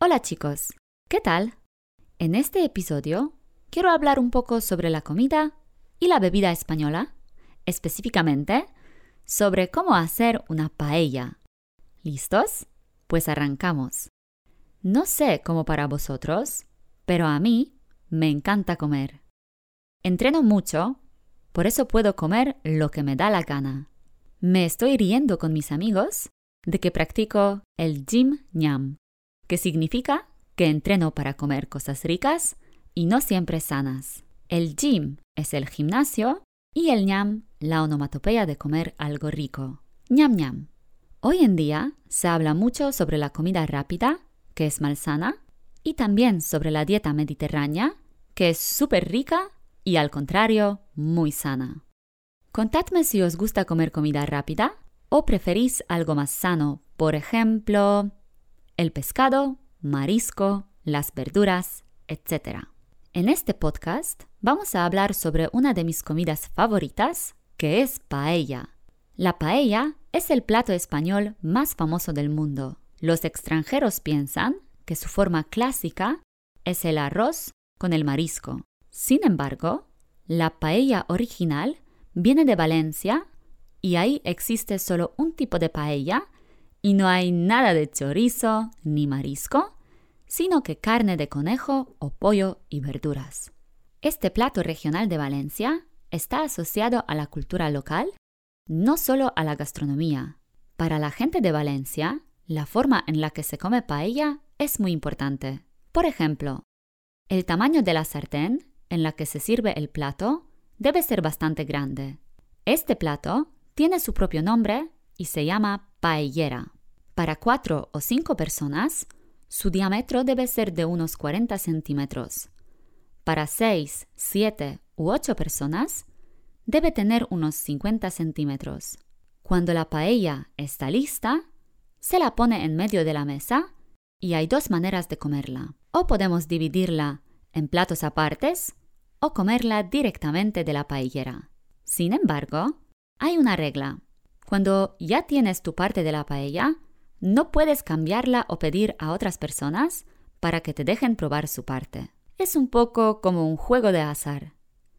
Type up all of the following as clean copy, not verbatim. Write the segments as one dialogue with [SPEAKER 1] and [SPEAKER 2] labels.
[SPEAKER 1] Hola chicos, ¿qué tal? En este episodio quiero hablar un poco sobre la comida y la bebida española, específicamente sobre cómo hacer una paella. ¿Listos? Pues arrancamos. No sé cómo para vosotros, pero a mí me encanta comer. Entreno mucho, por eso puedo comer lo que me da la gana. Me estoy riendo con mis amigos de que practico el gym ñam, que significa que entreno para comer cosas ricas y no siempre sanas. El gym es el gimnasio y el ñam la onomatopeya de comer algo rico. Ñam ñam. Hoy en día se habla mucho sobre la comida rápida, que es malsana, y también sobre la dieta mediterránea, que es súper rica y al contrario, muy sana. Contadme si os gusta comer comida rápida o preferís algo más sano, por ejemplo, el pescado, marisco, las verduras, etc. En este podcast vamos a hablar sobre una de mis comidas favoritas, que es paella. La paella es el plato español más famoso del mundo. Los extranjeros piensan que su forma clásica es el arroz con el marisco. Sin embargo, la paella original viene de Valencia y ahí existe solo un tipo de paella y no hay nada de chorizo ni marisco, sino que carne de conejo o pollo y verduras. Este plato regional de Valencia está asociado a la cultura local, no solo a la gastronomía. Para la gente de Valencia, la forma en la que se come paella es muy importante. Por ejemplo, el tamaño de la sartén en la que se sirve el plato debe ser bastante grande. Este plato tiene su propio nombre y se llama paellera. Para 4 o 5 personas, su diámetro debe ser de unos 40 centímetros. Para 6, 7 u 8 personas, debe tener unos 50 centímetros. Cuando la paella está lista, se la pone en medio de la mesa y hay dos maneras de comerla. O podemos dividirla en platos apartes o comerla directamente de la paellera. Sin embargo, hay una regla. Cuando ya tienes tu parte de la paella, no puedes cambiarla o pedir a otras personas para que te dejen probar su parte. Es un poco como un juego de azar.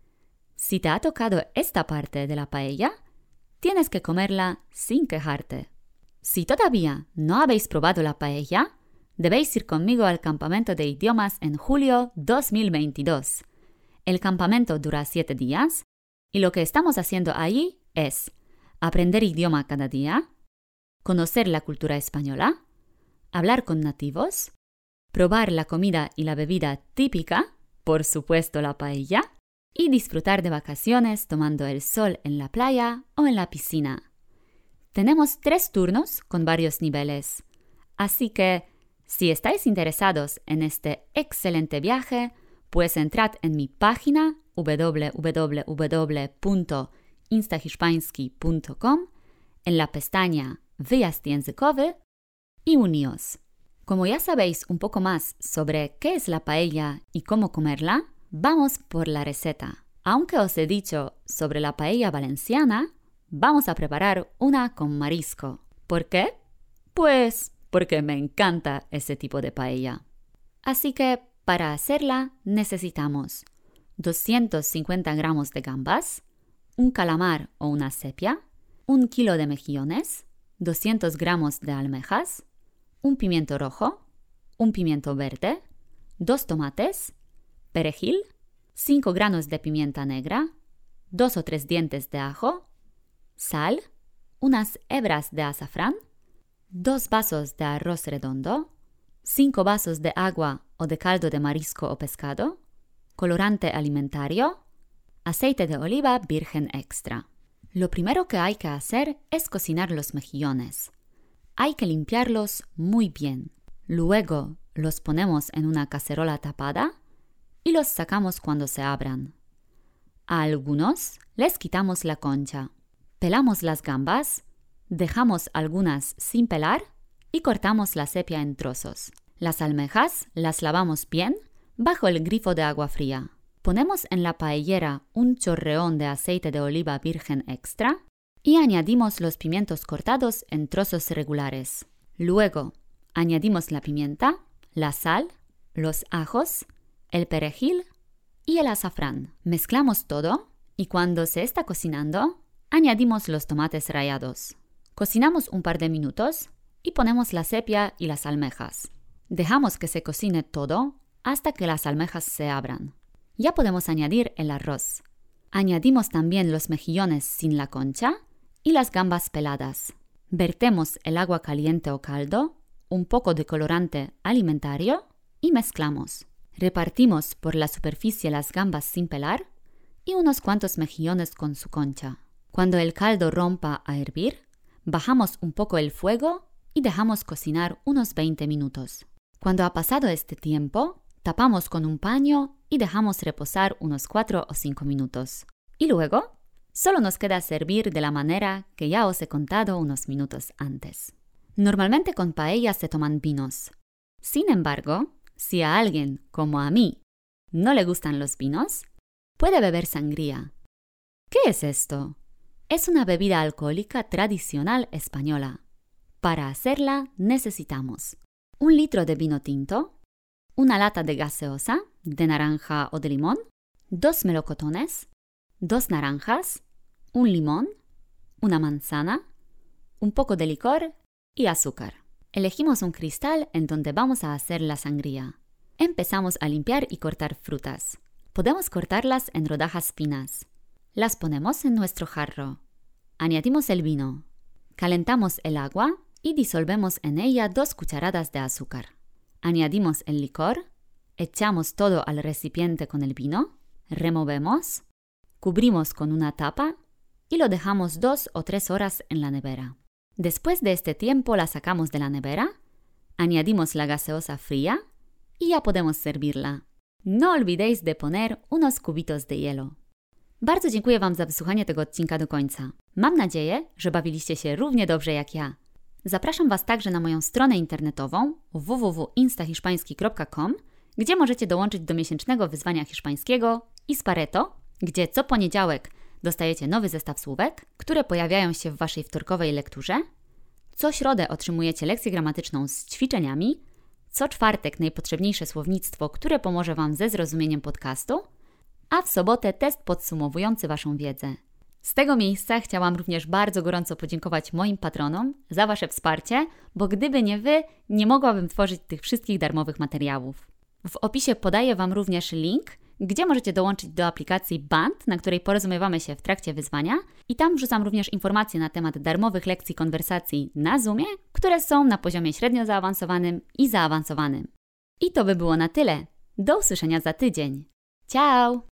[SPEAKER 1] Si te ha tocado esta parte de la paella, tienes que comerla sin quejarte. Si todavía no habéis probado la paella, debéis ir conmigo al campamento de idiomas en julio 2022. El campamento dura 7 días y lo que estamos haciendo allí es aprender idioma cada día, conocer la cultura española, hablar con nativos, probar la comida y la bebida típica, por supuesto la paella, y disfrutar de vacaciones tomando el sol en la playa o en la piscina. Tenemos 3 turnos con varios niveles, así que si estáis interesados en este excelente viaje, pues entrad en mi página www.instahiszpański.com en la pestaña Wyjazd językowy y uníos. Como ya sabéis un poco más sobre qué es la paella y cómo comerla, vamos por la receta. Aunque os he dicho sobre la paella valenciana, vamos a preparar una con marisco. ¿Por qué? Pues porque me encanta ese tipo de paella. Así que para hacerla necesitamos 250 gramos de gambas, un calamar o una sepia, 1 kilo de mejillones, 200 gramos de almejas, un pimiento rojo, un pimiento verde, 2 tomates, perejil, 5 granos de pimienta negra, 2 o 3 dientes de ajo, sal, unas hebras de azafrán, 2 vasos de arroz redondo, 5 vasos de agua o de caldo de marisco o pescado, colorante alimentario, aceite de oliva virgen extra. Lo primero que hay que hacer es cocinar los mejillones. Hay que limpiarlos muy bien. Luego los ponemos en una cacerola tapada y los sacamos cuando se abran. A algunos les quitamos la concha. Pelamos las gambas, dejamos algunas sin pelar y cortamos la sepia en trozos. Las almejas las lavamos bien bajo el grifo de agua fría. Ponemos en la paellera un chorreón de aceite de oliva virgen extra y añadimos los pimientos cortados en trozos regulares. Luego, añadimos la pimienta, la sal, los ajos, el perejil y el azafrán. Mezclamos todo y cuando se está cocinando, añadimos los tomates rallados. Cocinamos un par de minutos y ponemos la sepia y las almejas. Dejamos que se cocine todo hasta que las almejas se abran. Ya podemos añadir el arroz. Añadimos también los mejillones sin la concha y las gambas peladas. Vertemos el agua caliente o caldo, un poco de colorante alimentario y mezclamos. Repartimos por la superficie las gambas sin pelar y unos cuantos mejillones con su concha. Cuando el caldo rompa a hervir, bajamos un poco el fuego y dejamos cocinar unos 20 minutos. Cuando ha pasado este tiempo, tapamos con un paño y dejamos reposar unos 4 o 5 minutos. Y luego, solo nos queda servir de la manera que ya os he contado unos minutos antes. Normalmente con paella se toman vinos. Sin embargo, si a alguien, como a mí, no le gustan los vinos, puede beber sangría. ¿Qué es esto? Es una bebida alcohólica tradicional española. Para hacerla necesitamos 1 litro de vino tinto, una lata de gaseosa, de naranja o de limón, 2 melocotones, 2 naranjas, 1 limón, una manzana, un poco de licor y azúcar. Elegimos un cristal en donde vamos a hacer la sangría. Empezamos a limpiar y cortar frutas. Podemos cortarlas en rodajas finas. Las ponemos en nuestro jarro. Añadimos el vino. Calentamos el agua y disolvemos en ella 2 cucharadas de azúcar. Añadimos el licor, echamos todo al recipiente con el vino, removemos, cubrimos con una tapa y lo dejamos 2 o 3 horas en la nevera. Después de este tiempo la sacamos de la nevera, añadimos la gaseosa fría y ya podemos servirla. No olvidéis de poner unos cubitos de hielo. Bardzo dziękuję Wam za wysłuchanie tego odcinka do końca. Mam nadzieję, że bawiliście się równie dobrze jak ja. Zapraszam Was także na moją stronę internetową www.instahiszpański.com, gdzie możecie dołączyć do miesięcznego wyzwania hiszpańskiego Ispareto, gdzie co poniedziałek dostajecie nowy zestaw słówek, które pojawiają się w Waszej wtorkowej lekturze. Co środę otrzymujecie lekcję gramatyczną z ćwiczeniami. Co czwartek najpotrzebniejsze słownictwo, które pomoże Wam ze zrozumieniem podcastu. A w sobotę test podsumowujący Waszą wiedzę. Z tego miejsca chciałam również bardzo gorąco podziękować moim patronom za Wasze wsparcie, bo gdyby nie Wy, nie mogłabym tworzyć tych wszystkich darmowych materiałów. W opisie podaję Wam również link, gdzie możecie dołączyć do aplikacji Band, na której porozumiewamy się w trakcie wyzwania i tam wrzucam również informacje na temat darmowych lekcji konwersacji na Zoomie, które są na poziomie średnio zaawansowanym i zaawansowanym. I to by było na tyle. Do usłyszenia za tydzień. Ciao!